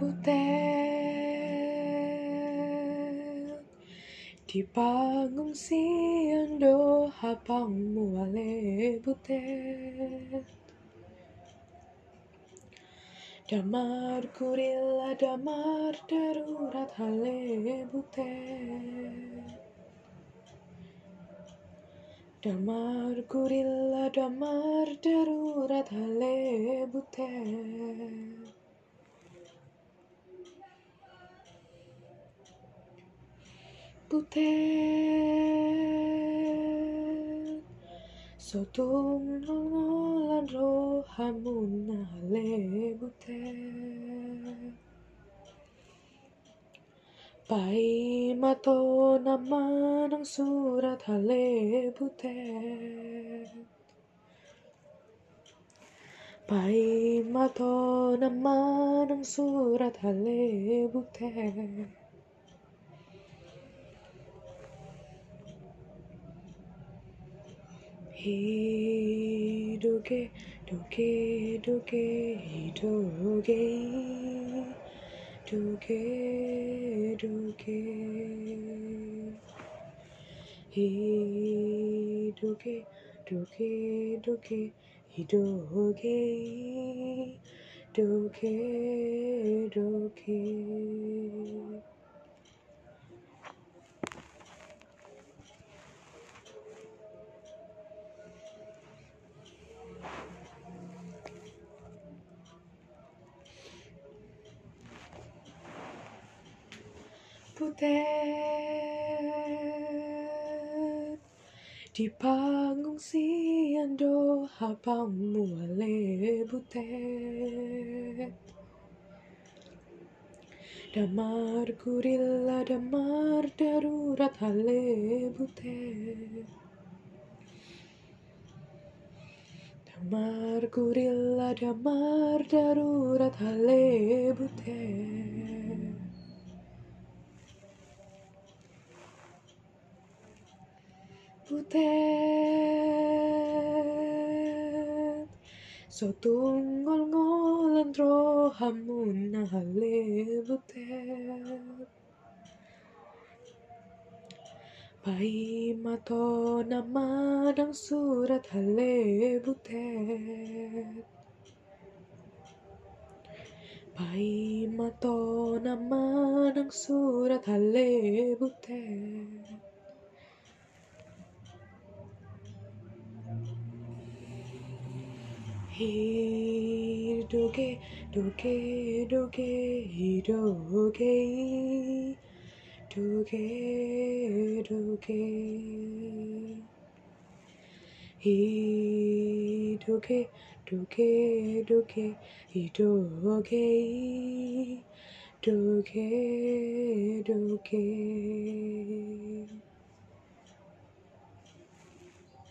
butet di pangungsian doha pamuale butet damar kurila damar darurat hale butet damar kurila damar darurat hale butet butet sotung ngolan rohamuna hale butet pai mato nama nang surat hale butet pai mato nama nang surat hale butet hidoge doge doge hidoge doge doge hidoge doge doge hidoge doge doge butet di pangungsian doha pamuale butet damar kurila damar darurat hale butet damar kurila damar darurat hale butet butet sotung ngol-ngolan rohamuna hale butet pai mato nama nang surat hale butet pai mato nama nang surat hale butet hidoge doge doge hidoge doge doge hidoge doge doge hidoge doge doge